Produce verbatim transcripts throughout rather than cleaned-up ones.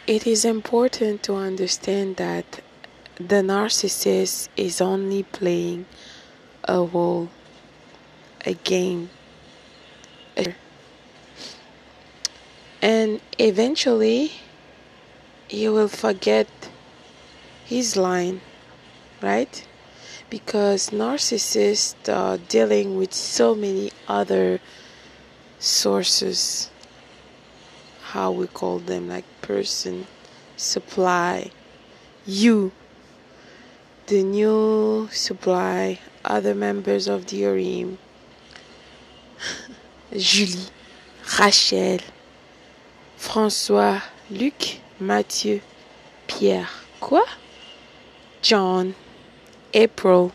It is important to understand that the narcissist is only playing a role, a game, a and eventually he will forget his line, right? Because narcissists are dealing with so many other sources, how we call them, like person, supply, you, the new supply, other members of the harem, Julie, Rachel, François, Luc, Mathieu, Pierre, quoi? John, April.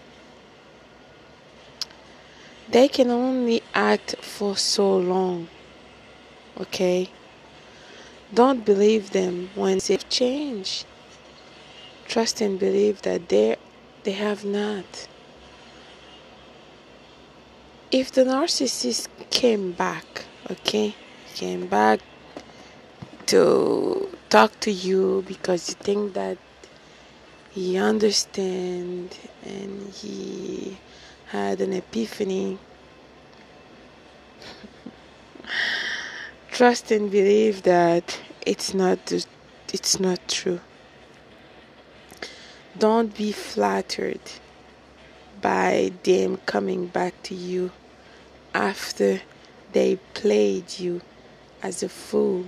They can only act for so long, okay? Don't believe them when they change. Trust and believe that they they have not. If the narcissist came back, okay, came back to talk to you because you think that he understand and he had an epiphany, trust and believe that it's not it's not true. Don't be flattered by them coming back to you after they played you as a fool.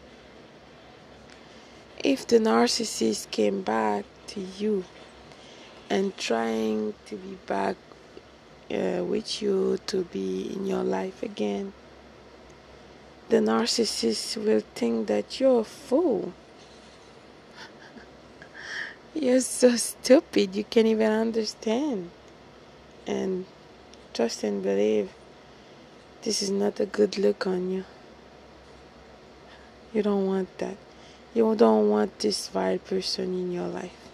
If the narcissist came back to you and trying to be back uh, with you to be in your life again, the narcissist will think that you're a fool. You're so stupid, you can't even understand. And trust and believe, this is not a good look on you. You don't want that. You don't want this vile person in your life.